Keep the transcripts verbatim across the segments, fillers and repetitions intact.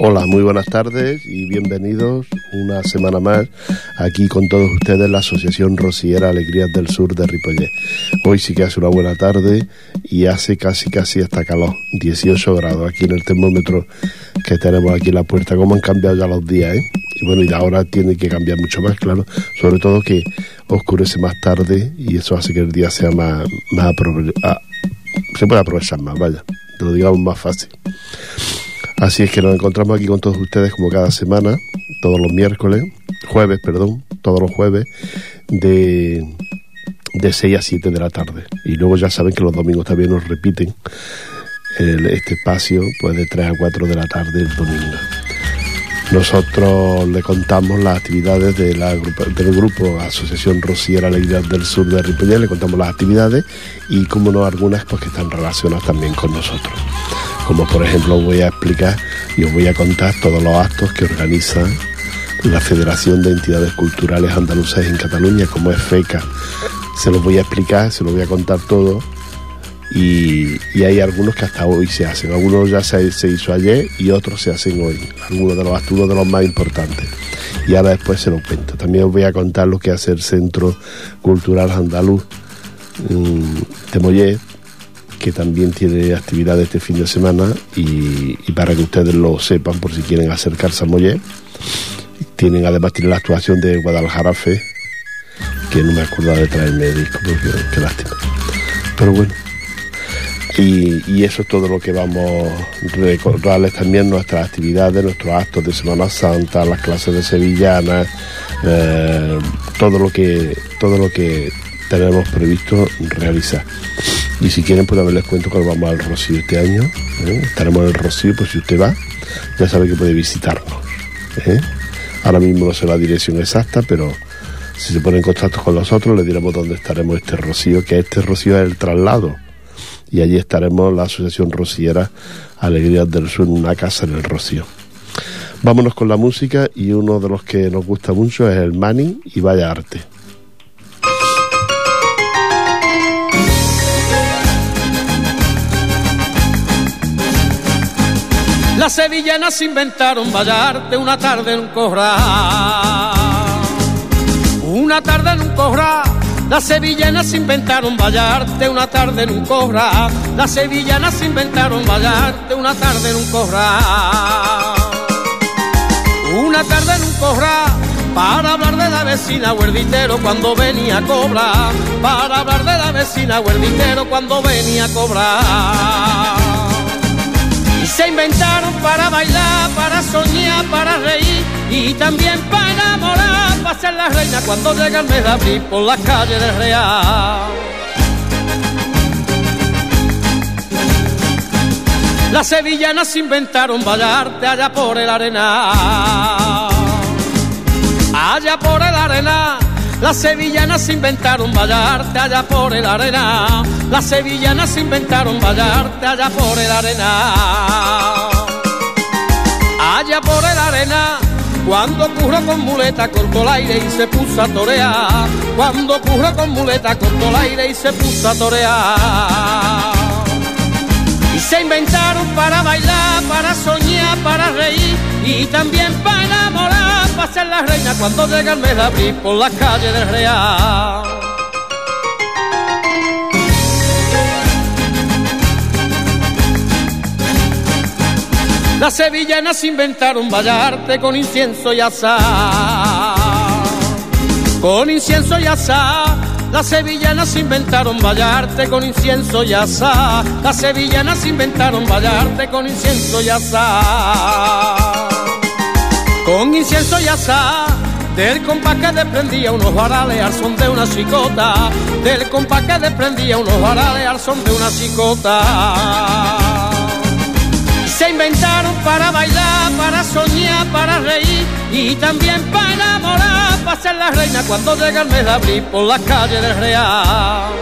Hola, muy buenas tardes y bienvenidos una semana más aquí con todos ustedes la Asociación Rociera Alegrías del Sur de Ripollet. Hoy sí que hace una buena tarde y hace casi casi hasta calor, dieciocho grados aquí en el termómetro que tenemos aquí en la puerta. Cómo han cambiado ya los días, ¿eh? Y bueno, y ahora tiene que cambiar mucho más, claro, sobre todo que oscurece más tarde y eso hace que el día sea más, más aprove- ah, se puede aprovechar más, vaya, te lo digamos más fácil. Así es que nos encontramos aquí con todos ustedes como cada semana, todos los miércoles, jueves, perdón, todos los jueves, de, de seis a siete de la tarde. Y luego ya saben que los domingos también nos repiten el, este espacio, pues de tres a cuatro de la tarde el domingo. Nosotros le contamos las actividades de la, del grupo Asociación Rociera Alegrías del Sur de Ripollet, le contamos las actividades y, como no, algunas pues que están relacionadas también con nosotros. Como por ejemplo os voy a explicar y os voy a contar todos los actos que organiza la Federación de Entidades Culturales Andaluzas en Cataluña, como es FECA. Se los voy a explicar, se los voy a contar todo. Y, y hay algunos que hasta hoy se hacen, algunos ya se, se hizo ayer y otros se hacen hoy, algunos de los actos, uno de los más importantes, y ahora después se los cuento. También os voy a contar lo que hace el Centro Cultural Andaluz um, de Mollet, que también tiene actividades este fin de semana, y, y para que ustedes lo sepan por si quieren acercarse a Mollet. Tienen, además tiene la actuación de Guadalajara Fe, que no me acuerdo de traerme el disco, porque qué lástima, pero bueno. Y, y eso es todo lo que vamos a recordarles también, nuestras actividades, nuestros actos de Semana Santa, las clases de sevillanas, eh, todo lo que todo lo que tenemos previsto realizar. Y si quieren, pues también les cuento que vamos al Rocío este año, ¿eh? Estaremos en el Rocío, pues si usted va, ya sabe que puede visitarnos, ¿eh? Ahora mismo no sé la dirección exacta, pero si se pone en contacto con nosotros le diremos dónde estaremos este Rocío, que este Rocío es el traslado. Y allí estaremos la Asociación Rociera Alegrías del Sur en una casa en el Rocío. Vámonos con la música, y uno de los que nos gusta mucho es el Mani y Vaya Arte. Las sevillanas inventaron Vaya Arte una tarde en un corral. Una tarde en un corral. Las sevillanas inventaron Vaya Arte una tarde en un corral. Las sevillanas inventaron Vaya Arte una tarde en un corral. Una tarde en un corral para hablar de la vecina Huerditero cuando venía a cobrar. Para hablar de la vecina Huerditero cuando venía a cobrar. Y se inventaron para bailar, para soñar, para reír y también para enamorar, para ser la reina cuando llega el mes de abril por las calles del Real. Las sevillanas inventaron Vaya Arte allá por el Arenal. Allá por el Arenal. Las sevillanas inventaron Vaya Arte allá por el Arenal. Las sevillanas inventaron Vaya Arte allá por el Arenal. Allá por el Arenal. Cuando curro con muleta cortó el aire y se puso a torear. Cuando curro con muleta cortó el aire y se puso a torear. Y se inventaron para bailar, para soñar, para reír y también para enamorar, para ser la reina cuando llega el mes de abril por las calles del Real. Las sevillanas inventaron Vaya Arte con incienso y azar. Con incienso y azar. Las sevillanas inventaron Vaya Arte con incienso y azar. Las sevillanas inventaron Vaya Arte con incienso y azar. Con incienso y azar. Del compás que desprendía unos varales al son de una chicota. Del compás que desprendía unos varales al son de una chicota. Se inventaron para bailar, para soñar, para reír y también para enamorar, para ser la reina cuando llega el mes de abril por las calles del Real.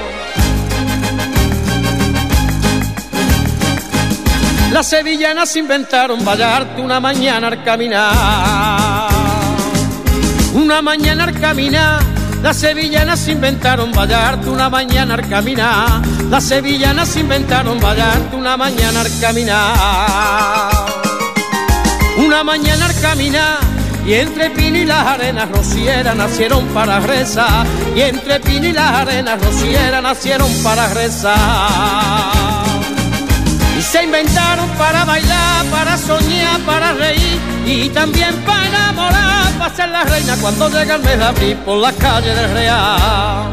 Las sevillanas inventaron Vaya Arte una mañana al caminar. Una mañana al caminar. Las sevillanas inventaron Vaya Arte una mañana al caminar. Las sevillanas inventaron Vaya Arte una mañana al caminar. Una mañana al caminar y entre Pino y las arenas rocieras nacieron para rezar, y entre Pino y las arenas rocieras nacieron para rezar. Y se inventaron para bailar, para soñar, para reír y también para enamorar, para ser la reina cuando llega el mes de abril por las calles del Real.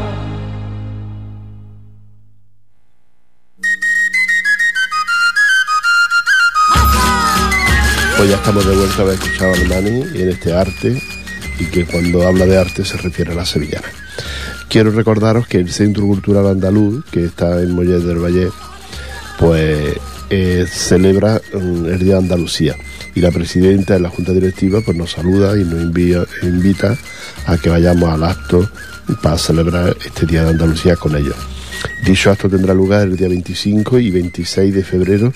Pues ya estamos de vuelta a haber escuchado al Mani en este arte, y que cuando habla de arte se refiere a la sevillana. Quiero recordaros que el Centro Cultural Andaluz, que está en Mollet del Valle, pues eh, celebra um, el Día de Andalucía, y la presidenta de la Junta Directiva pues nos saluda y nos envía, invita a que vayamos al acto para celebrar este Día de Andalucía con ellos. Dicho acto tendrá lugar el día veinticinco y veintiséis de febrero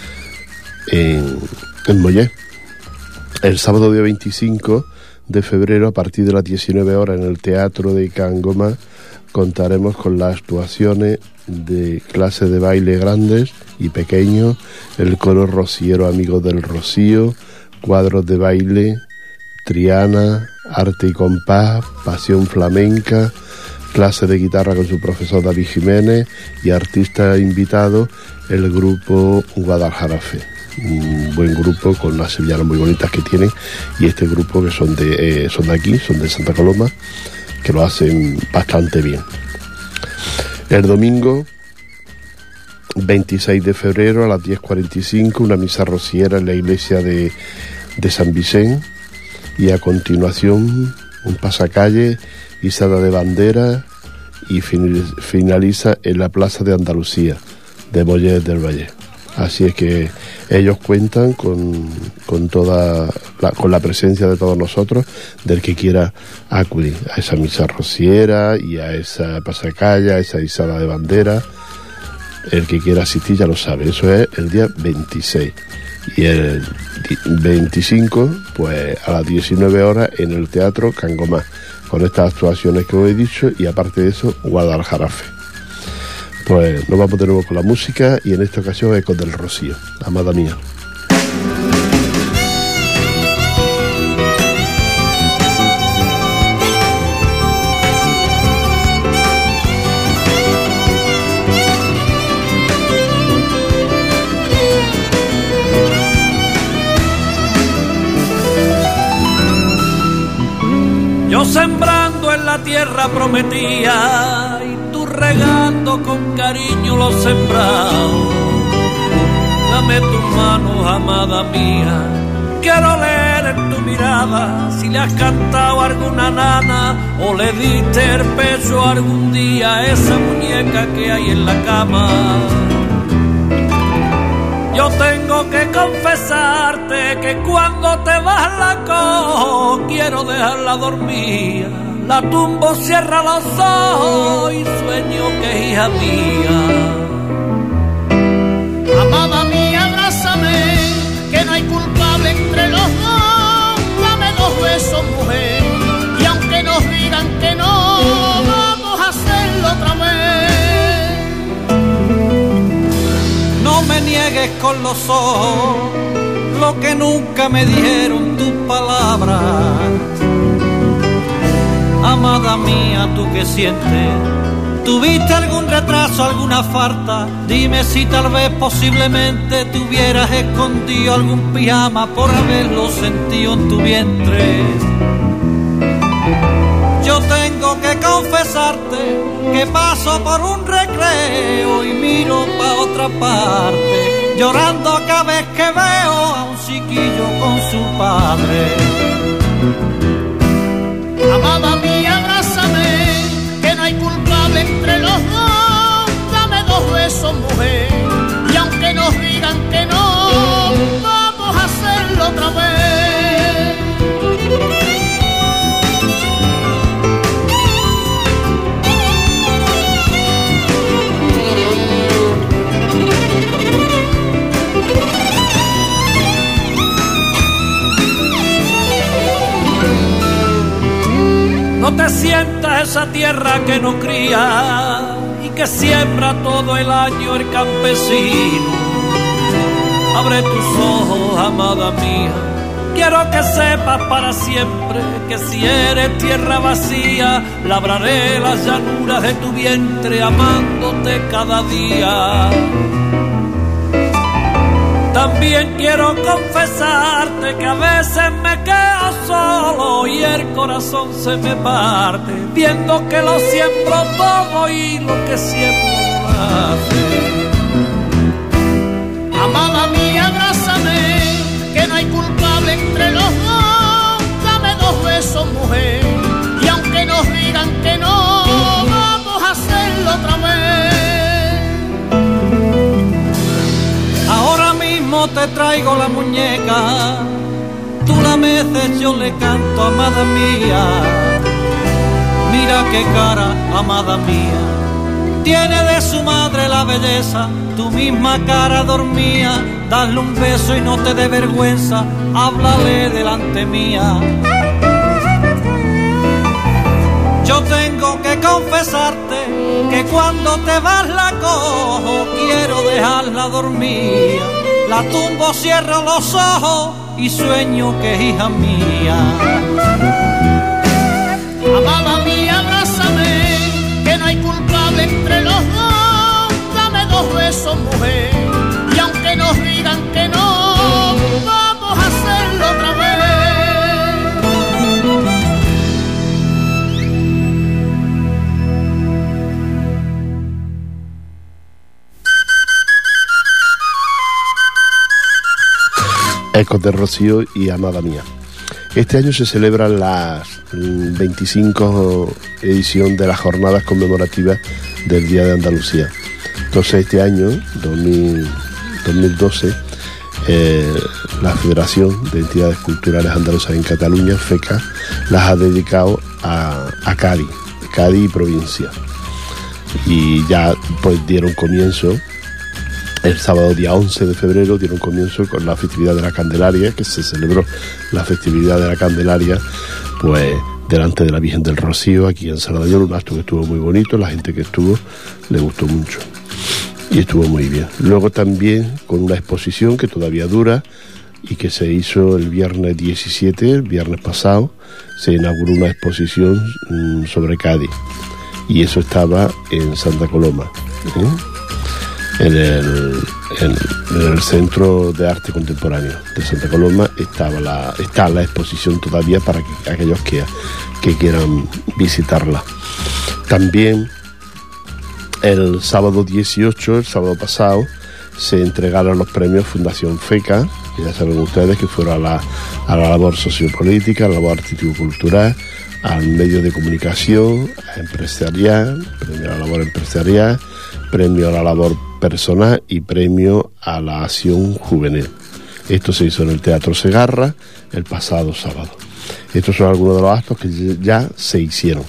en en Mollet. El sábado día veinticinco de febrero, a partir de las diecinueve horas, en el Teatro de Can Gomá, contaremos con las actuaciones de clases de baile grandes y pequeños, el coro rociero Amigos del Rocío, cuadros de baile, Triana, arte y compás, pasión flamenca, clase de guitarra con su profesor David Jiménez, y artista invitado el grupo Guadalajarafe. Un buen grupo con unas sevillanas muy bonitas que tienen, y este grupo que son de, eh, son de aquí, son de Santa Coloma, que lo hacen bastante bien. El domingo veintiséis de febrero a las diez cuarenta y cinco, una misa rociera en la iglesia de, de San Vicente, y a continuación un pasacalle, izada de bandera, y finaliza en la Plaza de Andalucía de Mollet del Valle. Así es que ellos cuentan con, con toda la, con la presencia de todos nosotros, del que quiera acudir a esa misa rociera y a esa pasacalla, a esa izada de bandera. El que quiera asistir ya lo sabe. Eso es el día veintiséis, y el veinticinco pues a las diecinueve horas en el Teatro Can Gomá, con estas actuaciones que os he dicho, y aparte de eso Guadalajarafe. Pues nos vamos de nuevo con la música, y en esta ocasión Ecos del Rocío, Amada Mía. Yo sembrando en la tierra prometía, regando con cariño lo sembrado. Dame tus manos, amada mía, quiero leer en tu mirada si le has cantado a alguna nana o le diste el pecho algún día a esa muñeca que hay en la cama. Yo tengo que confesarte que cuando te vas la cojo, quiero dejarla dormida. La tumbo, cierra los ojos y sueño que es hija mía. Amada mía, abrázame, que no hay culpable entre los dos. Dame dos besos, mujer, y aunque nos digan que no, vamos a hacerlo otra vez. No me niegues con los ojos lo que nunca me dijeron tus palabras. Amada mía, ¿tú qué sientes? ¿Tuviste algún retraso, alguna falta? Dime si tal vez posiblemente te hubieras escondido algún pijama por haberlo sentido en tu vientre. Yo tengo que confesarte que paso por un recreo y miro pa' otra parte, llorando cada vez que veo a un chiquillo con su padre. Amada mía, abrázame, que no hay culpable entre los dos. Dame dos besos, mujer, y aunque nos digan que no, vamos a hacerlo otra vez. No te sientas esa tierra que no cría y que siembra todo el año el campesino. Abre tus ojos, amada mía, Quiero que sepas para siempre que si eres tierra vacía, labraré las llanuras de tu vientre amándote cada día. También quiero confesarte que a veces me quedo solo y el corazón se me parte, viendo que lo siembro todo y lo que siembro nace. Amada mía, abrázame, que no hay culpable entre los dos. Dame dos besos, mujer, y aunque nos digan que no, vamos a hacerlo otra vez. Ahora mismo te traigo la muñeca, tú la meces, yo le canto, amada mía. Mira qué cara, amada mía, tiene de su madre la belleza, tu misma cara dormía. Dale un beso y no te dé vergüenza, háblale delante mía. Yo tengo que confesarte que cuando te vas la cojo, quiero dejarla dormida. La tumbo, cierro los ojos y sueño que es hija mía. Amada mía, abrázame, que no hay culpable entre los dos. Dame dos besos, mujer, y aunque nos digan que no, vamos a hacerlo otra vez. Ecos de Rocío y Amada Mía. Este año se celebra la veinticinco edición de las jornadas conmemorativas del Día de Andalucía. Entonces este año, dos mil doce, eh, la Federación de Entidades Culturales Andaluzas en Cataluña, FECA, las ha dedicado a, a Cádiz, Cádiz y provincia. Y ya pues dieron comienzo. El sábado día once de febrero dieron comienzo con la festividad de la Candelaria, que se celebró la festividad de la Candelaria pues delante de la Virgen del Rocío aquí en Sardañola, un acto que estuvo muy bonito, la gente que estuvo le gustó mucho y estuvo muy bien. Luego también con una exposición que todavía dura y que se hizo el viernes diecisiete, el viernes pasado, se inauguró una exposición mmm, sobre Cádiz y eso estaba en Santa Coloma, ¿eh? En el, en, en el Centro de Arte Contemporáneo de Santa Coloma estaba la, está la exposición todavía para que, aquellos que, que quieran visitarla. También el sábado dieciocho, el sábado pasado, se entregaron los premios Fundación FECA, que ya saben ustedes que fueron a la, a la labor sociopolítica, a la labor artístico-cultural, al medio de comunicación, a empresarial, premio a la labor empresarial, premio a la labor personal y premio a la acción juvenil. Esto se hizo en el Teatro Segarra el pasado sábado. Estos son algunos de los actos que ya se hicieron.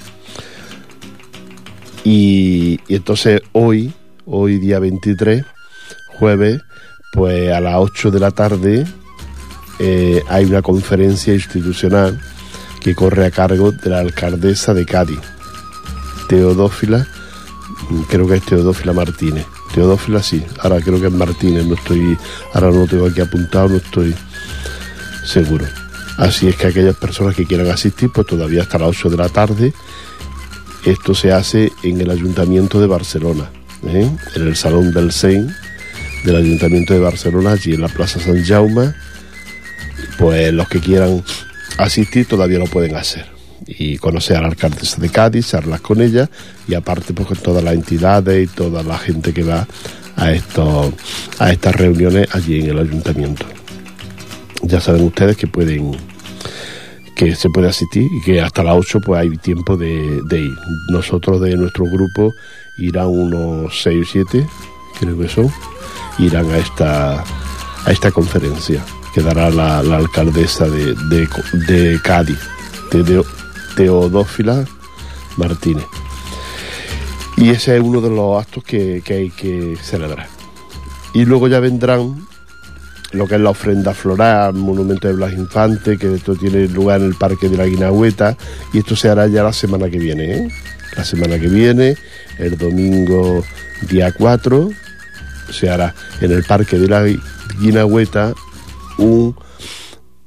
Y, y entonces hoy, hoy día veintitrés, jueves, pues a las ocho de la tarde eh, hay una conferencia institucional que corre a cargo de la alcaldesa de Cádiz, Teodófila, creo que es Teodófila Martínez. Teodófila sí, ahora creo que es Martínez, no estoy, ahora no lo tengo aquí apuntado, no estoy seguro. Así es que aquellas personas que quieran asistir, pues todavía hasta las ocho de la tarde. Esto se hace en el Ayuntamiento de Barcelona, ¿eh? En el Salón del Sen del Ayuntamiento de Barcelona, allí en la Plaza San Jaume. Pues los que quieran asistir todavía lo pueden hacer y conocer a la alcaldesa de Cádiz, hablar con ella y aparte pues con todas las entidades y toda la gente que va a estos a estas reuniones allí en el ayuntamiento. Ya saben ustedes que pueden que se puede asistir y que hasta las ocho pues hay tiempo de, de ir. Nosotros de nuestro grupo irán unos seis o siete, creo que son, irán a esta a esta conferencia que dará la, la alcaldesa de, de, de Cádiz, de, de Teodófila Martínez. Y ese es uno de los actos que, que hay que celebrar. Y luego ya vendrán lo que es la ofrenda floral, monumento de Blas Infante, que esto tiene lugar en el Parque de la Guinahueta, y esto se hará ya la semana que viene, ¿eh? La semana que viene, el domingo día cuatro, se hará en el Parque de la Guinahueta un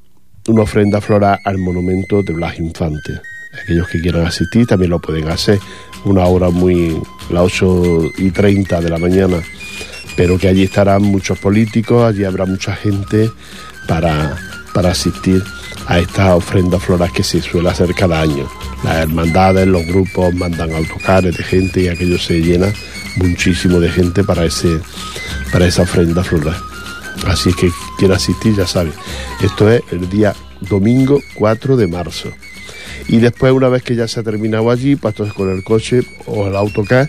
una ofrenda floral al monumento de Blas Infante. Aquellos que quieran asistir también lo pueden hacer, una hora muy, las ocho y treinta de la mañana, pero que allí estarán muchos políticos, allí habrá mucha gente para, para asistir a estas ofrendas florales que se suele hacer cada año. Las hermandades, los grupos mandan autocares de gente y aquello se llena muchísimo de gente para, ese, para esa ofrenda floral. Así es que quiera asistir, ya sabe, esto es el día domingo cuatro de marzo. Y después, una vez que ya se ha terminado allí, pues entonces con el coche o el autocar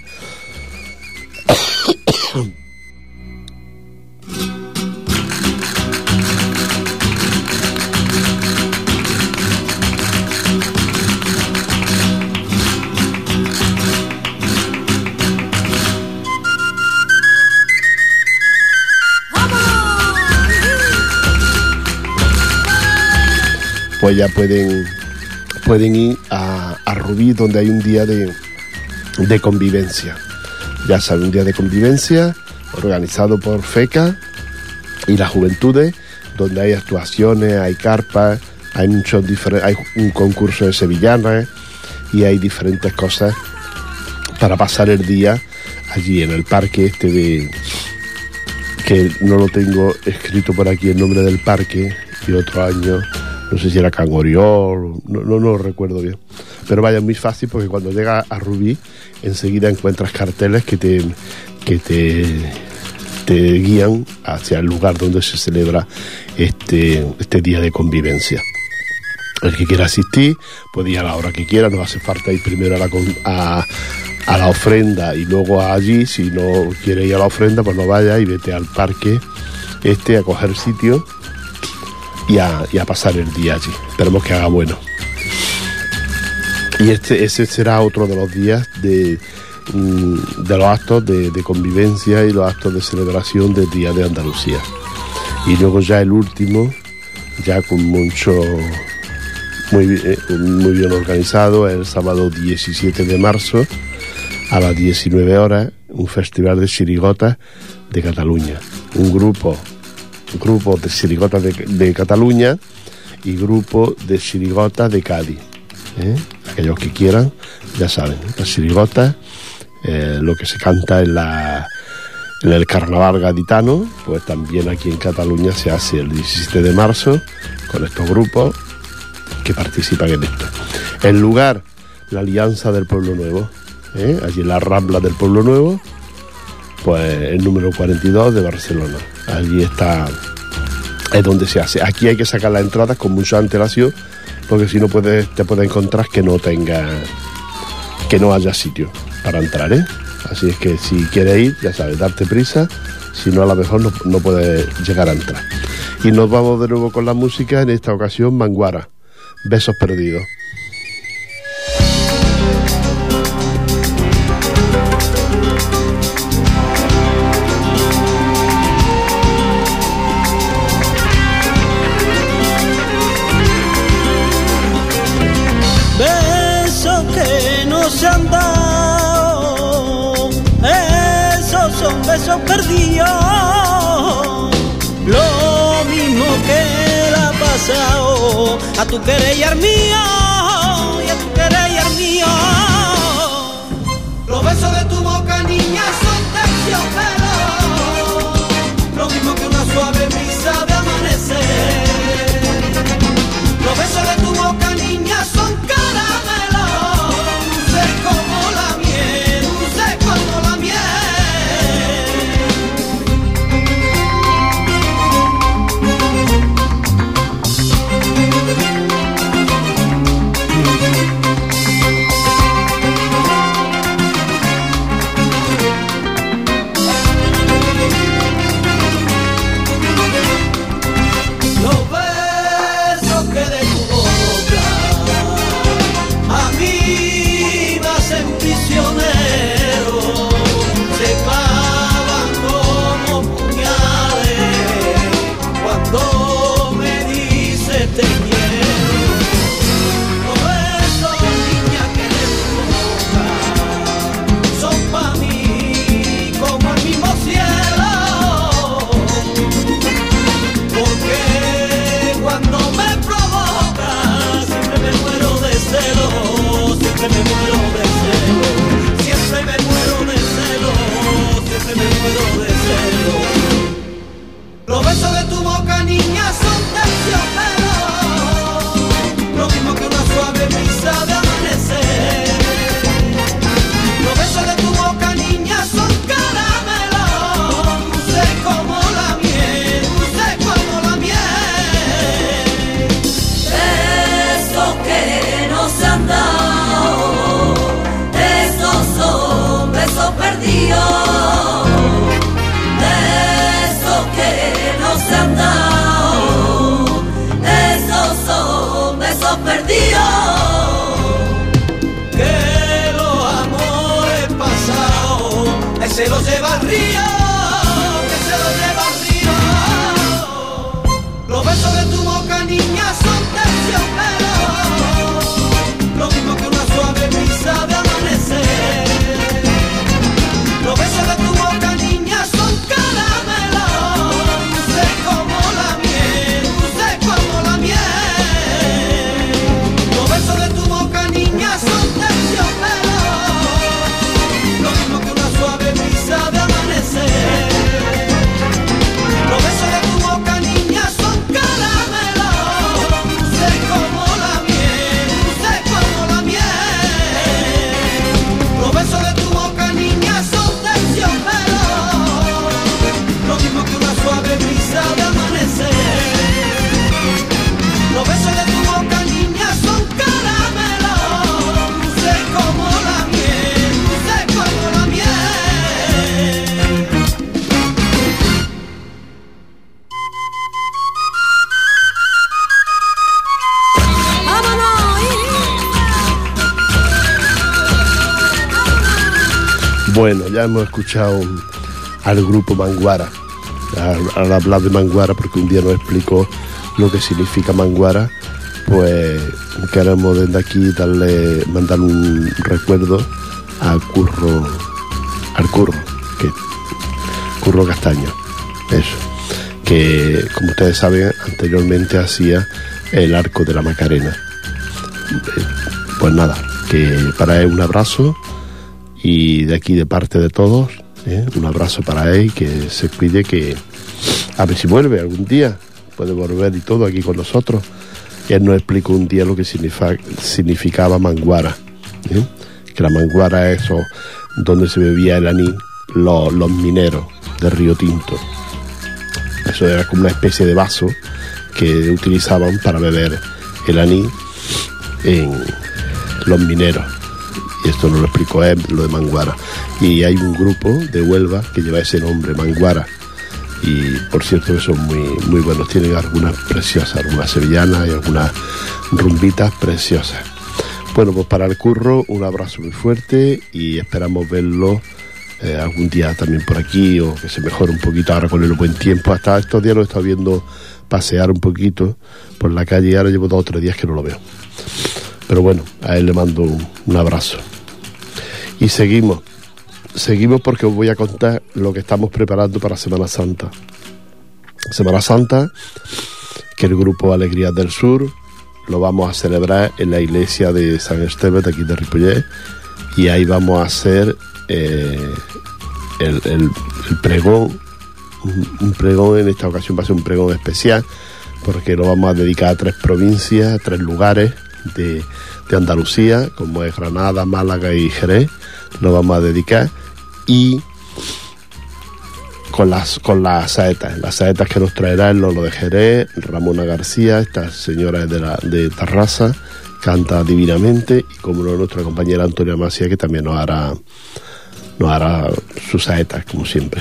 pues ya pueden, pueden ir a, a Rubí, donde hay un día de, de convivencia. Ya saben, un día de convivencia organizado por FECA y las juventudes, donde hay actuaciones, hay carpas, hay muchos diferentes, hay un concurso de sevillanas y hay diferentes cosas para pasar el día allí en el parque este de, que no lo tengo escrito por aquí el nombre del parque, y otro año no sé si era Can Oriol, no, no, no lo recuerdo bien, pero vaya, muy fácil, porque cuando llegas a Rubí enseguida encuentras carteles que te que te, te guían hacia el lugar donde se celebra este, este día de convivencia. El que quiera asistir puede ir a la hora que quiera, no hace falta ir primero a la, a, a la ofrenda y luego allí. Si no quiere ir a la ofrenda, pues no vaya y vete al parque este a coger sitio y a, y a pasar el día allí. Esperemos que haga bueno. Y este ese será otro de los días de, de los actos de, de convivencia y los actos de celebración del Día de Andalucía. Y luego ya el último, ya con mucho, muy, muy bien organizado, el sábado diecisiete de marzo a las diecinueve horas, un festival de chirigotas de Cataluña. Un grupo grupo de chirigotas de, de Cataluña y grupo de chirigotas de Cádiz. ¿eh? Aquellos que quieran, ya saben, las chirigotas, eh, lo que se canta en, la, en el carnaval gaditano, pues también aquí en Cataluña se hace el diecisiete de marzo con estos grupos que participan en esto. El lugar, la Alianza del Pueblo Nuevo, ¿eh? allí en la Rambla del Pueblo Nuevo, pues el número cuarenta y dos de Barcelona. Allí está, es donde se hace. Aquí hay que sacar las entradas con mucha antelación, porque si no puedes, te puedes encontrar que no tenga, que no haya sitio para entrar, ¿eh? Así es que si quieres ir, ya sabes, darte prisa, si no a lo mejor no, no puedes llegar a entrar. Y nos vamos de nuevo con la música, en esta ocasión Manguara, Besos Perdidos. Besos perdidos, lo mismo que le ha pasado a tu querer y al mío, y a tu querer y al mío. Los besos de tu boca, niña, son terciopelos, lo mismo que una suave brisa de amanecer. Los besos de tu boca, niña, son caramelos, dulces como la miel, dulces como la miel. Bueno, ya hemos escuchado al grupo Manguara, al, al hablar de Manguara, porque un día nos explicó lo que significa Manguara, pues queremos desde aquí darle, mandar un recuerdo al Curro, al Curro, que Curro Castaño, eso, que como ustedes saben anteriormente hacía el Arco de la Macarena. Pues nada, que para él un abrazo, y de aquí de parte de todos, ¿eh? un abrazo para él, que se cuide, que a ver si vuelve algún día, puede volver y todo aquí con nosotros. Y él nos explicó un día lo que significa, significaba Manguara, ¿eh? que la Manguara es eso, donde se bebía el anís los, los mineros de Río Tinto. Eso era como una especie de vaso que utilizaban para beber el anís en los mineros. Y esto nos lo explicó él, lo de Manguara. Y hay un grupo de Huelva que lleva ese nombre, Manguara. Y por cierto que son muy, muy buenos, tienen algunas preciosas, algunas sevillanas y algunas rumbitas preciosas. Bueno, pues para el Curro un abrazo muy fuerte y esperamos verlo eh, algún día también por aquí, o que se mejore un poquito ahora con el buen tiempo. Hasta estos días lo he estado viendo pasear un poquito por la calle y ahora llevo dos o tres días que no lo veo. Pero bueno, a él le mando un, un abrazo. Y seguimos. Seguimos porque os voy a contar lo que estamos preparando para Semana Santa. Semana Santa, que el grupo Alegrías del Sur lo vamos a celebrar en la iglesia de San Esteban de aquí de Ripollet, y ahí vamos a hacer eh, el, el, el pregón, un, un pregón. En esta ocasión va a ser un pregón especial porque lo vamos a dedicar a tres provincias, a tres lugares de, de Andalucía, como es Granada, Málaga y Jerez. Lo vamos a dedicar, y con las con las saetas, las saetas que nos traerá el Lolo de Jerez, Ramona García, esta señora es de, la, de Tarrasa, canta divinamente, y como no, nuestra compañera Antonia Macía, que también nos hará nos hará sus saetas, como siempre.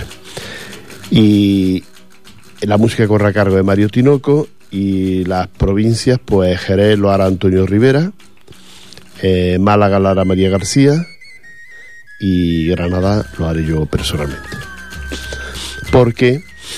Y la música corre a cargo de Mario Tinoco, y las provincias, pues Jerez lo hará Antonio Rivera, eh, Málaga lo hará María García, y Granada lo haré yo personalmente, porque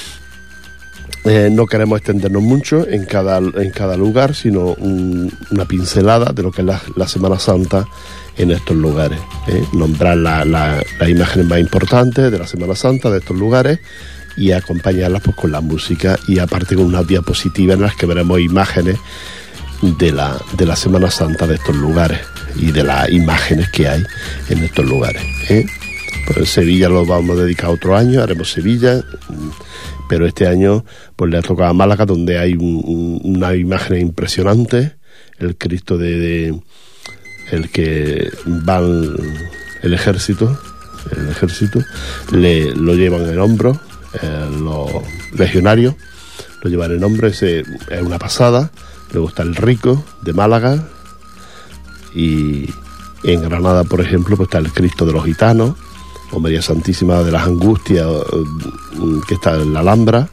eh, no queremos extendernos mucho en cada, en cada lugar, sino un, una pincelada de lo que es la, la Semana Santa en estos lugares, ¿eh? Nombrar la, la, las imágenes más importantes de la Semana Santa de estos lugares y acompañarlas pues con la música, y aparte con unas diapositivas en las que veremos imágenes de la, de la Semana Santa de estos lugares y de las imágenes que hay en estos lugares, ¿eh? Pues en Sevilla lo vamos a dedicar otro año, haremos Sevilla, pero este año pues le ha tocado a Málaga, donde hay un, un, una imagen impresionante, el Cristo de, de el que van el ejército, el ejército le lo llevan en el hombro, eh, los legionarios lo llevan en el hombro, ese es una pasada. Luego está el Rico de Málaga, y en Granada, por ejemplo, pues está el Cristo de los Gitanos, o María Santísima de las Angustias, que está en la Alhambra,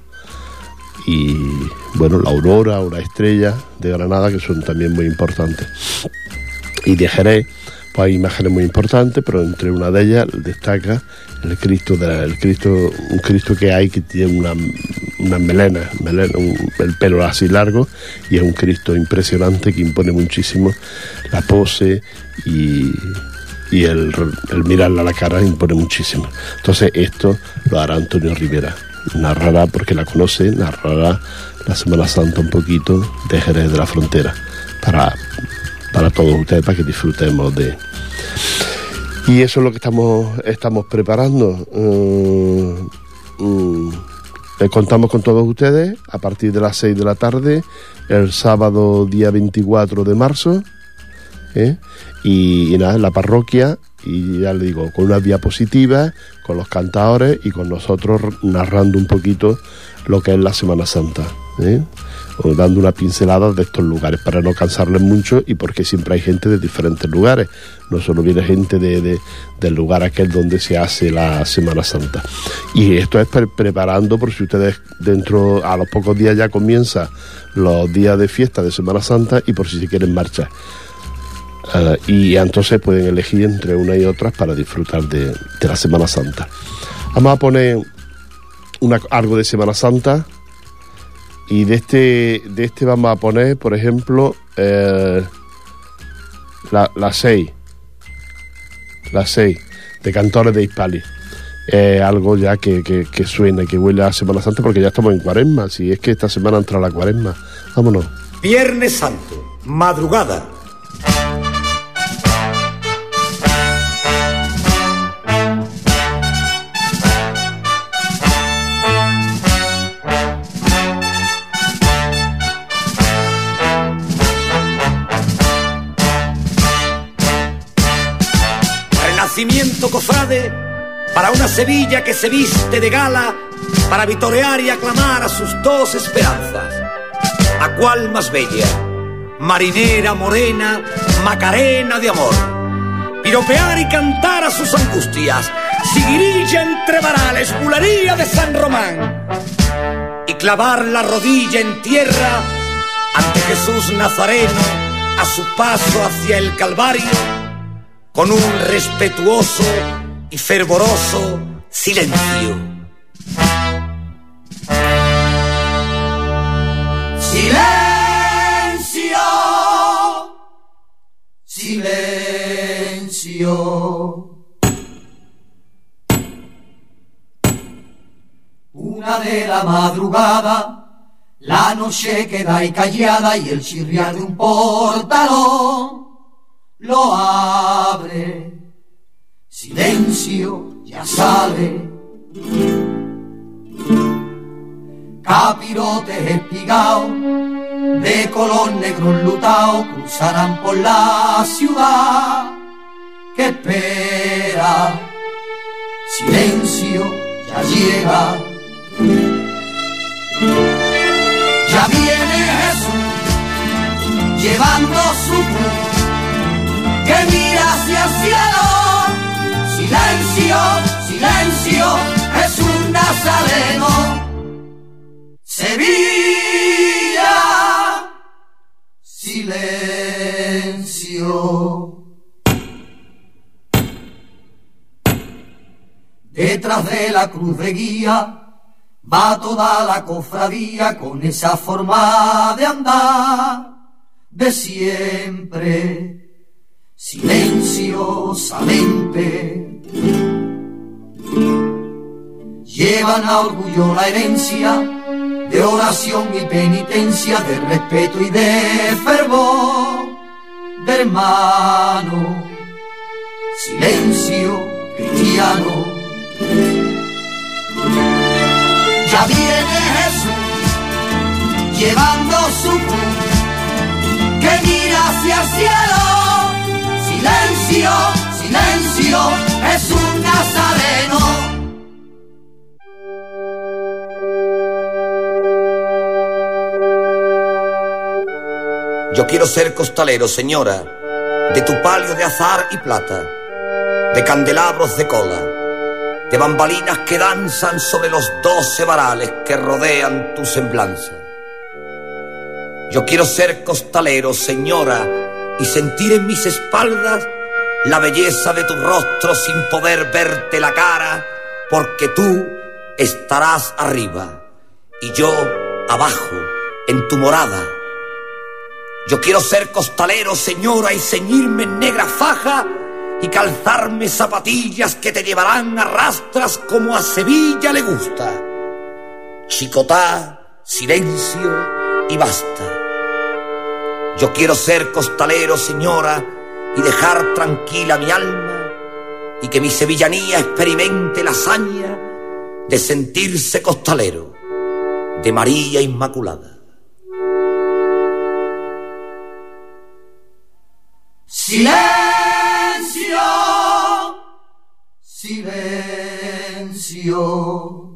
y bueno, la Aurora o la Estrella de Granada, que son también muy importantes. Y de Jerez, pues hay imágenes muy importantes, pero entre una de ellas destaca el Cristo, de la, el Cristo, un Cristo que hay que tiene una, una melena, melena un, el pelo así largo, y es un Cristo impresionante que impone muchísimo. La pose y, y el, el mirarle a la cara impone muchísimo. Entonces esto lo hará Antonio Rivera, narrará, porque la conoce, narrará la Semana Santa un poquito de Jerez de la Frontera para, para todos ustedes, para que disfrutemos de... Y eso es lo que estamos estamos preparando. Uh, uh, les contamos con todos ustedes a partir de las seis de la tarde, el sábado día veinticuatro de marzo, ¿eh? y, y nada, en la parroquia, y ya le digo, con unas diapositivas, con los cantadores y con nosotros narrando un poquito lo que es la Semana Santa, ¿eh? O dando una pincelada de estos lugares para no cansarles mucho, y porque siempre hay gente de diferentes lugares, no solo viene gente de, de, del lugar aquel donde se hace la Semana Santa. Y esto es pre preparando por si ustedes dentro, a los pocos días ya comienza los días de fiesta de Semana Santa, y por si se quieren marchar. Uh, y entonces pueden elegir entre una y otras para disfrutar de, de la Semana Santa. Vamos a poner una, algo de Semana Santa, y de este de este vamos a poner, por ejemplo, eh, la, la seis la seis de Cantores de Hispali. Eh, algo ya que, que, que suena, que huele a Semana Santa, porque ya estamos en Cuaresma. Si es que esta semana entra la Cuaresma, vámonos. Viernes Santo, madrugada. Renacimiento cofrade, para una Sevilla que se viste de gala, para vitorear y aclamar a sus dos esperanzas. ¿A cuál más bella? Marinera morena, Macarena de amor. Piropear y cantar a sus angustias, siguirilla entre varales, bulería de San Román. Y clavar la rodilla en tierra ante Jesús Nazareno a su paso hacia el Calvario, con un respetuoso y fervoroso silencio. Silencio, silencio. Una de la madrugada, la noche queda ahí callada y el chirriar de un portalón lo abre. Silencio, ya sale. Capirotes espigados, de color negro enlutado, cruzarán por la ciudad que espera. Silencio, ya llega. Ya viene Jesús, llevando su cruz, que mira hacia el cielo. Silencio, silencio, Jesús Nazareno. Sevilla, silencio. Detrás de la cruz de guía va toda la cofradía con esa forma de andar de siempre. Silenciosamente llevan a orgullo la herencia de oración y penitencia, de respeto y de fervor, de hermano. Silencio cristiano. Ya viene Jesús, llevando su cruz, que mira hacia el cielo. Silencio, silencio, Jesús Nazareno. Yo quiero ser costalero, señora, de tu palio de azar y plata, de candelabros de cola, de bambalinas que danzan sobre los doce varales que rodean tu semblanza. Yo quiero ser costalero, señora, y sentir en mis espaldas la belleza de tu rostro sin poder verte la cara, porque tú estarás arriba y yo abajo en tu morada. Yo quiero ser costalero, señora, y ceñirme en negra faja y calzarme zapatillas que te llevarán a rastras como a Sevilla le gusta. Chicotá, silencio y basta. Yo quiero ser costalero, señora, y dejar tranquila mi alma, y que mi sevillanía experimente la hazaña de sentirse costalero de María Inmaculada. Silencio, silencio.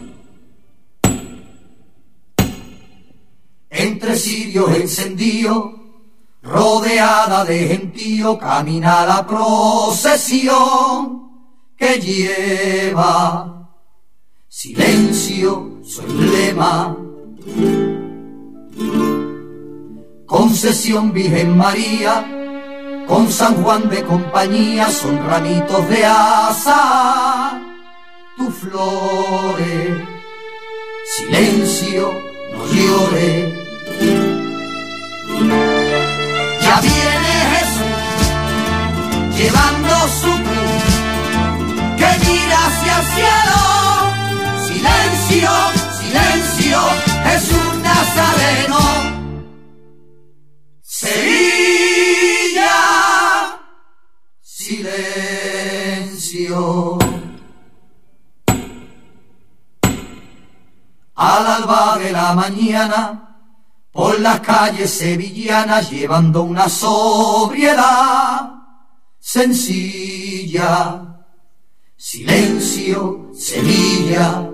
Entre cirios encendidos, rodeada de gentío, camina la procesión que lleva silencio su emblema. Concesión Virgen María, con San Juan de compañía son ramitos de asa, tus flores, silencio, no llores. Ya viene Jesús llevando su cruz, que mira hacia el cielo, silencio, silencio, Jesús Nazareno. Sevilla, silencio. Al alba de la mañana, por las calles sevillanas, llevando una sobriedad sencilla. Silencio, Sevilla.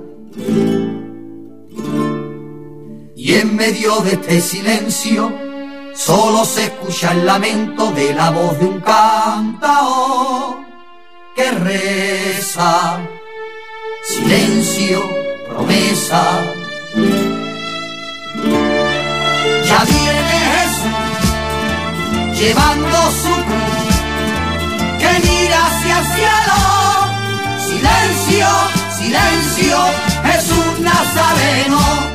Y en medio de este silencio, solo se escucha el lamento de la voz de un cantaor que reza. Silencio, promesa. Ya viene Jesús llevando su cruz, que mira hacia el cielo. Silencio, silencio, Jesús Nazareno.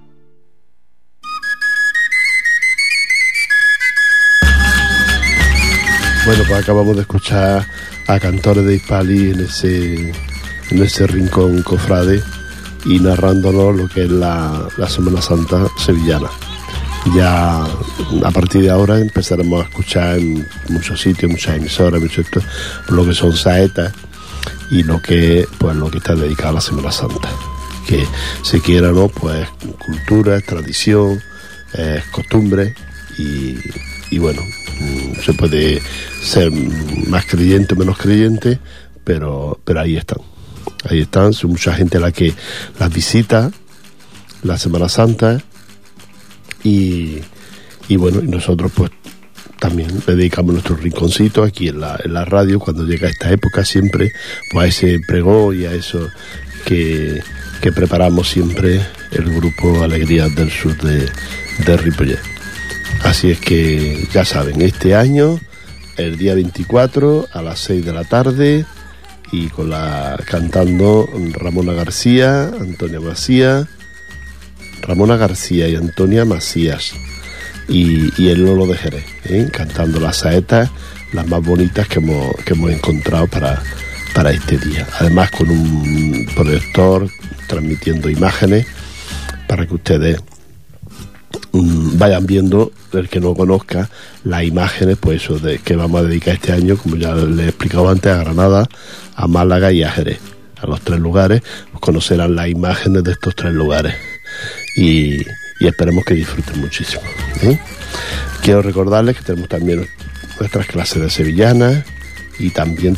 Bueno, pues acabamos de escuchar a cantores de Hispali en ese, en ese rincón cofrade y narrándonos lo que es la, la Semana Santa sevillana. Ya a partir de ahora empezaremos a escuchar en muchos sitios, muchas emisoras, muchos esto, lo que son saetas y lo que, pues, lo que está dedicado a la Semana Santa. Que se quiera o no, pues cultura, es tradición, es costumbre y, y bueno, se puede ser más creyente o menos creyente, pero, pero ahí están. Ahí están, son mucha gente la que las visita, la Semana Santa, y, y bueno, y nosotros pues también le dedicamos nuestro rinconcito aquí en la, en la radio, cuando llega esta época siempre, pues a ese pregón y a eso que, que preparamos siempre el grupo Alegrías del Sur de, de Ripollet. Así es que ya saben, este año, el día veinticuatro a las seis de la tarde, y con la cantando Ramona García, Antonia Macías, Ramona García y Antonia Macías, y, y el Lolo de Jerez, ¿eh? Cantando las saetas, las más bonitas que hemos, que hemos encontrado para, para este día. Además con un proyector transmitiendo imágenes para que ustedes vayan viendo, el que no conozca, las imágenes, pues eso, de que vamos a dedicar este año, como ya les he explicado antes, a Granada, a Málaga y a Jerez. A los tres lugares, pues conocerán las imágenes de estos tres lugares. Y, y esperemos que disfruten muchísimo, ¿eh? Quiero recordarles que tenemos también nuestras clases de sevillanas y también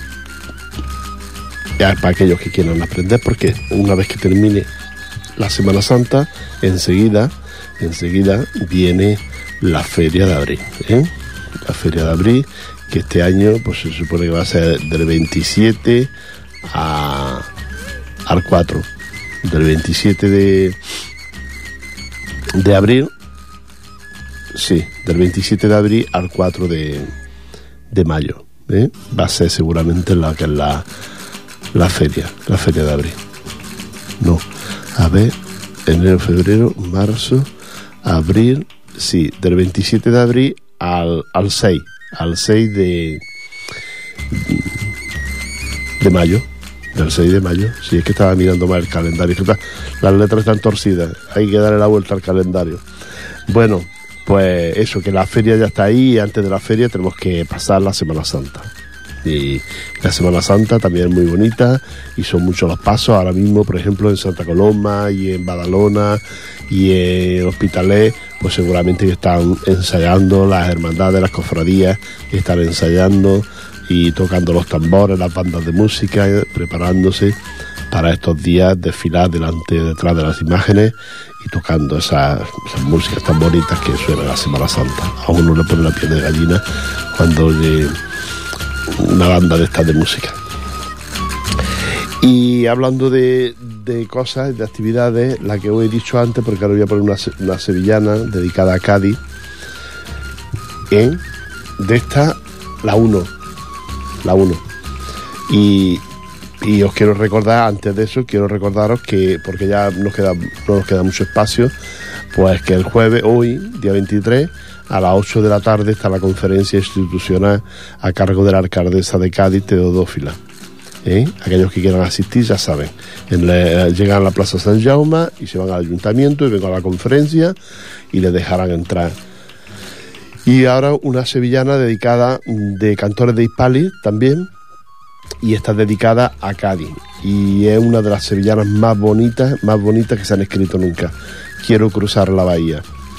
ya para aquellos que quieran aprender, porque una vez que termine la Semana Santa, enseguida enseguida viene la Feria de Abril, ¿eh? La Feria de Abril, que este año pues se supone que va a ser del veintisiete a, al cuatro, del veintisiete de, de abril, sí, del veintisiete de abril al cuatro de, de mayo, ¿eh? Va a ser seguramente la que es la, la feria, la Feria de Abril. No, a ver, enero, febrero, marzo, abril, sí, del veintisiete de abril al, al seis, al seis de, de mayo, del seis de mayo, sí, es que estaba mirando mal el calendario, que está, las letras están torcidas, hay que darle la vuelta al calendario. Bueno, pues eso, que la feria ya está ahí, y antes de la feria tenemos que pasar la Semana Santa. Y la Semana Santa también es muy bonita y son muchos los pasos. Ahora mismo, por ejemplo, en Santa Coloma y en Badalona y en Hospitalet, pues seguramente que están ensayando las hermandades, las cofradías, que están ensayando y tocando los tambores, las bandas de música, preparándose para estos días, desfilar delante, detrás de las imágenes y tocando esas, esas músicas tan bonitas que suena la Semana Santa. A uno le pone la piel de gallina cuando oye una banda de estas de música. Y hablando de, de cosas, de actividades, la que os he dicho antes, porque ahora voy a poner una, una sevillana dedicada a Cádiz, ¿eh? De esta La uno. La uno. Y, y os quiero recordar, antes de eso, quiero recordaros que, porque ya nos queda, no nos queda mucho espacio, pues que el jueves, hoy, día veintitrés, a las ocho de la tarde está la conferencia institucional a cargo de la alcaldesa de Cádiz, Teodófila. ¿Eh? Aquellos que quieran asistir ya saben, en la, llegan a la Plaza San Jaume y se van al ayuntamiento y vengan a la conferencia y les dejarán entrar. Y ahora una sevillana dedicada, de cantores de Hispalis también, y está dedicada a Cádiz y es una de las sevillanas más bonitas, más bonitas que se han escrito nunca. Quiero cruzar la bahía.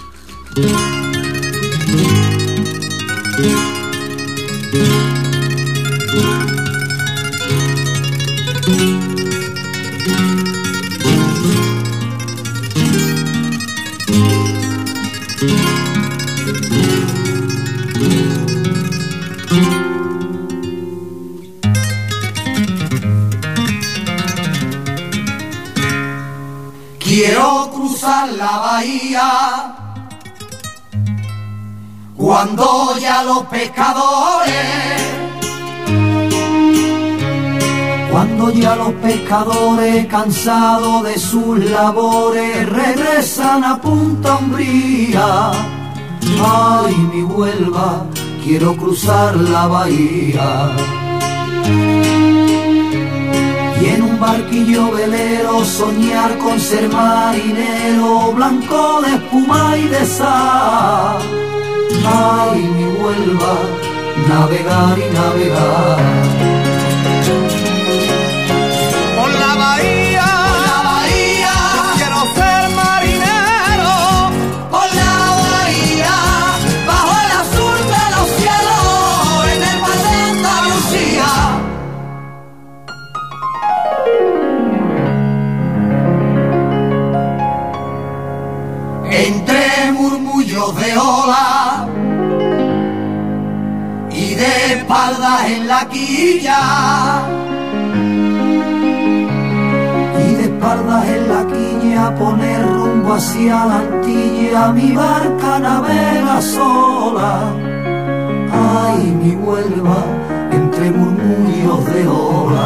Quiero cruzar la bahía cuando ya los pescadores, cuando ya los pescadores cansados de sus labores regresan a Punta Umbría. Ay, mi Huelva, quiero cruzar la bahía. Y en un barquillo velero soñar con ser marinero, blanco de espuma y de sal. Ay, mi Huelva, navegar y navegar. Por la bahía, por la bahía, quiero ser marinero. por la bahía, bajo el azul de los cielos, en el mar de Andalucía. Entre murmullos de ola y de espaldas en la quilla, y de espaldas en la quilla poner rumbo hacia la Antilla, mi barca navega sola. Ay, mi Huelva, entre murmullos de ola.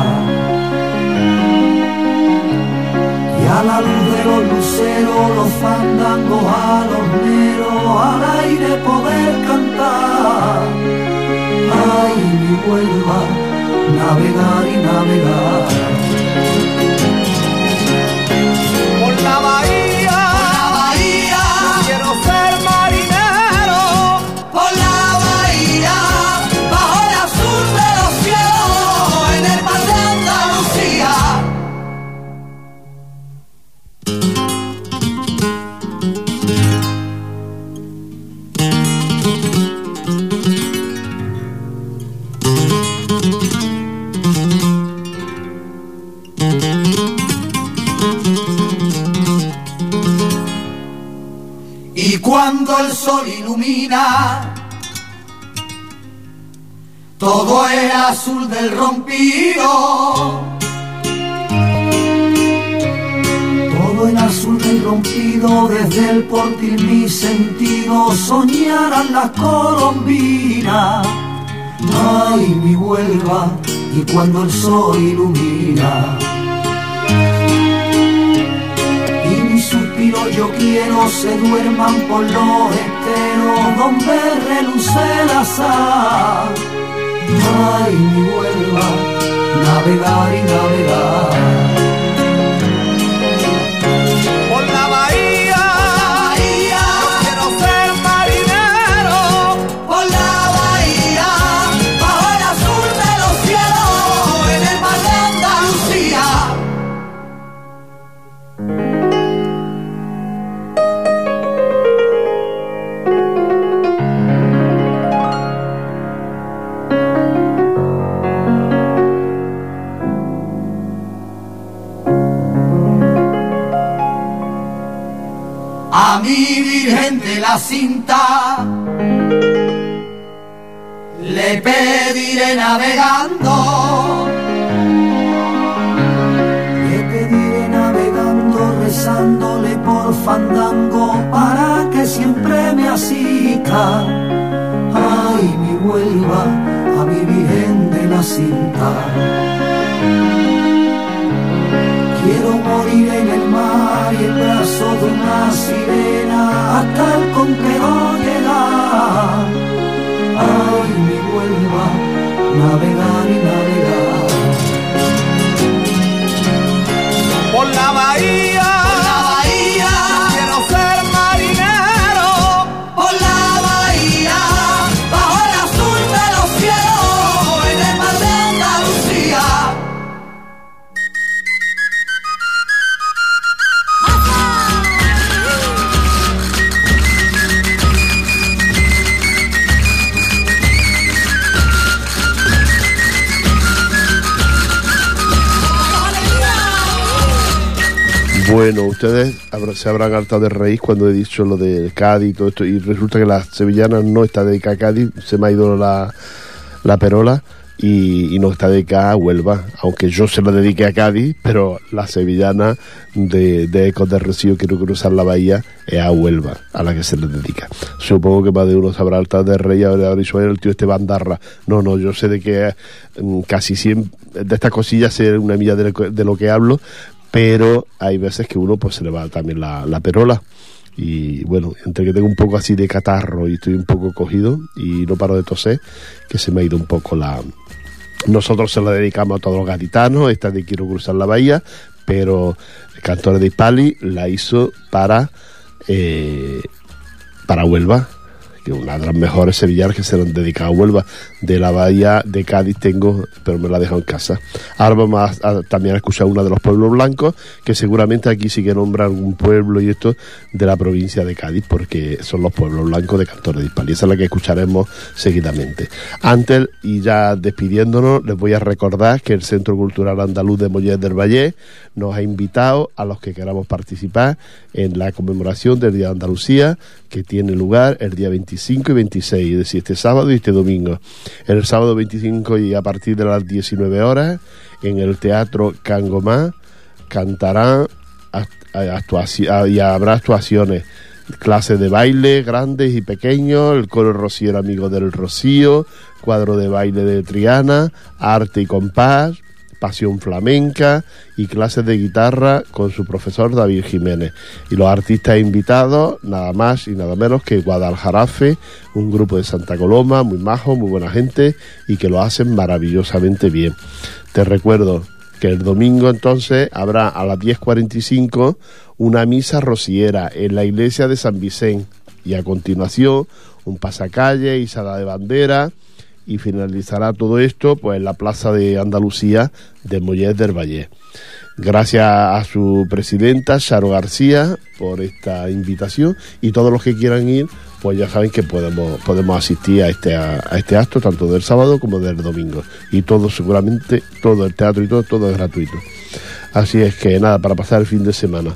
Y a la luz de los luceros, los fandangos alorneros, al aire poder cantar. Ay, mi Huelva, navegar y navegar. Por la bahía, Por la bahía, quiero ser marinero. por la bahía, bajo el azul de los cielos, en el mar de Andalucía. Y cuando el sol ilumina todo el azul del rompido, todo el azul del rompido, desde el portil mi sentido soñarán las colombinas. Ay, mi Huelva, y cuando el sol ilumina y mis suspiros yo quiero se duerman por los esteros donde reluce la sal. Ay, mi Huelva, navegar y navegar. Por la bahía, Bahía, quiero ser marinero. por la bahía, bajo el azul de los cielos, en el mar de Andalucía. A mi Virgen de la Cinta le pediré navegando, le pediré navegando, rezándole por fandango para que siempre me asista. Ay, mi Huelva, morir en el mar y el brazo de una sirena hasta el conquero llegar. Ay, mi Huelva, navegar y navegar. Por la bahía, por la bahía, quiero ser marinero. Por la bahía, bajo el azul de los cielos, en el mar de Andalucía. Bueno, ustedes se habrán hartado de reír cuando he dicho lo de Cádiz y todo esto, y resulta que la sevillana no está dedicada a Cádiz, se me ha ido la, la perola, y, y no está dedicada a Huelva, aunque yo se la dediqué a Cádiz, pero la sevillana de, de Ecos de Rocío, Quiero cruzar la bahía, es a Huelva, a la que se le dedica. Supongo que más de uno se habrá hartado de reír, habrá dicho el tío este bandarra. No, no, yo sé de que mm, casi siempre, de estas cosillas sé una milla de, de lo que hablo, pero hay veces que uno pues se le va también la, la perola, y bueno, entre que tengo un poco así de catarro y estoy un poco cogido y no paro de toser, que se me ha ido un poco la... Nosotros se la dedicamos a todos los gaditanos, esta de Quiero cruzar la bahía, pero Cantores de Hispali la hizo para eh, para Huelva, que es una de las mejores sevillanas que se le han dedicado a Huelva. De la bahía de Cádiz tengo, pero me la he dejado en casa. Ahora vamos a, a, también a escuchar una de los pueblos blancos, que seguramente aquí sí que nombra algún pueblo y esto de la provincia de Cádiz, porque son los pueblos blancos de Cantores de Hispali. Esa es la que escucharemos seguidamente. Antes, y ya despidiéndonos, les voy a recordar que el Centro Cultural Andaluz de Mollet del Vallés nos ha invitado a los que queramos participar en la conmemoración del Día de Andalucía, que tiene lugar el día veinticinco y veintiséis, es decir, este sábado y este domingo. El sábado veinticinco y a partir de las diecinueve horas, en el Teatro Cangomá, cantarán actuaci- y habrá actuaciones, clases de baile grandes y pequeños, el coro rociero Amigo del Rocío, cuadro de baile de Triana, arte y compás, pasión flamenca y clases de guitarra con su profesor David Jiménez. Y los artistas invitados, nada más y nada menos que Guadaljarafe, un grupo de Santa Coloma, muy majo, muy buena gente y que lo hacen maravillosamente bien. Te recuerdo que el domingo entonces habrá a las diez cuarenta y cinco una misa rociera en la iglesia de San Vicente, y a continuación un pasacalle, izada de bandera, y finalizará todo esto pues en la Plaza de Andalucía de Mollet del Vallés. Gracias a su presidenta, Charo García, por esta invitación, y todos los que quieran ir, pues ya saben que podemos podemos asistir a este a, a este acto, tanto del sábado como del domingo. Y todo, seguramente, todo el teatro y todo, todo es gratuito. Así es que nada, para pasar el fin de semana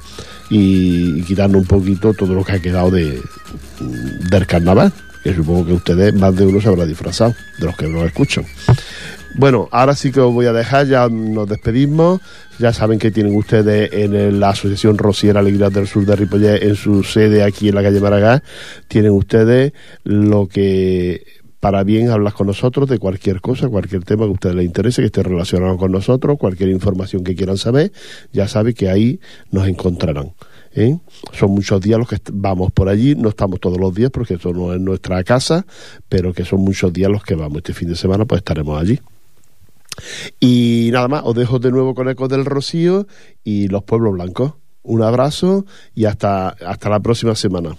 y, y quitando un poquito todo lo que ha quedado de del carnaval, que supongo que ustedes, más de uno se habrá disfrazado, de los que nos escuchan. Bueno, ahora sí que os voy a dejar, ya nos despedimos. Ya saben que tienen ustedes en el, la Asociación Rociera Alegría del Sur de Ripollet, en su sede aquí en la calle Maragall, tienen ustedes lo que para bien hablar con nosotros de cualquier cosa, cualquier tema que a ustedes les interese, que esté relacionado con nosotros, cualquier información que quieran saber, ya saben que ahí nos encontrarán. ¿Eh? Son muchos días los que vamos por allí, no estamos todos los días porque esto no es nuestra casa, pero que son muchos días los que vamos. Este fin de semana pues estaremos allí. Y nada más, os dejo de nuevo con Ecos del Rocío y los pueblos blancos. Un abrazo y hasta, hasta la próxima semana.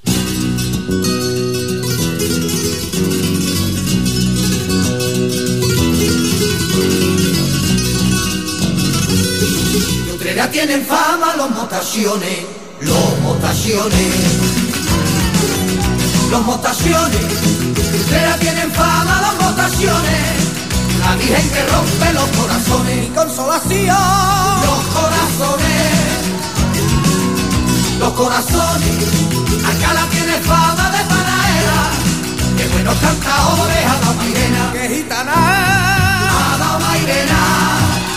Ya tienen fama los motaciones, los motaciones, los motaciones. Ya tienen fama los motaciones, la virgen que rompe los corazones. Mi consolación, los corazones, los corazones. Alcalá tiene fama de panaera, que buenos cantadores a la Mairena, que gitana a la Mairena.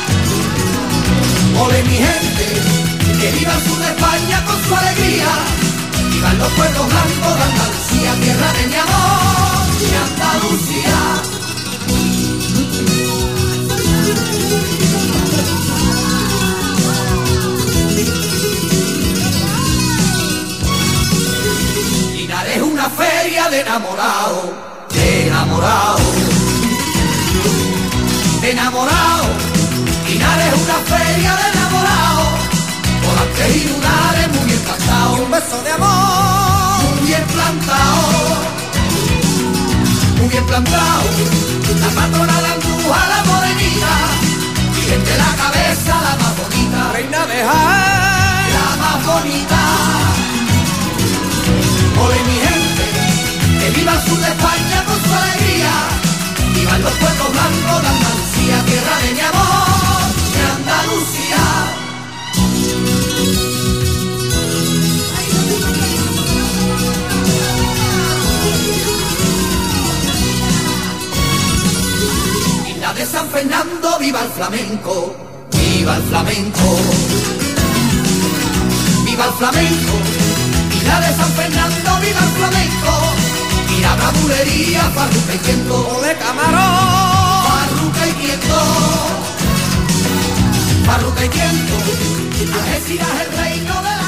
Ole mi gente, que viva el sur de España con su alegría, vivan los pueblos blancos de Andalucía, tierra de mi amor, de Andalucía. de enamorado, de enamorado, de enamorado. Linares es una feria de enamorado, volantes y lunares muy bien plantados. Y un beso de amor muy bien plantado, muy bien plantado. La patrona, la andújar, la morenita, Virgen de la cabeza, la más bonita, reina de Jaén, la más bonita. Ole mi gente, que viva el sur de España con su alegría, vivan los pueblos blancos de Andalucía, tierra de mi amor, de Andalucía. Isla de San Fernando, viva el flamenco, viva el flamenco, viva el flamenco. Isla de San Fernando, viva el flamenco, y la bravulería, farruca y tiento, ole camarón, farruca y tiento, farruca y tiento. Algeciras el reino de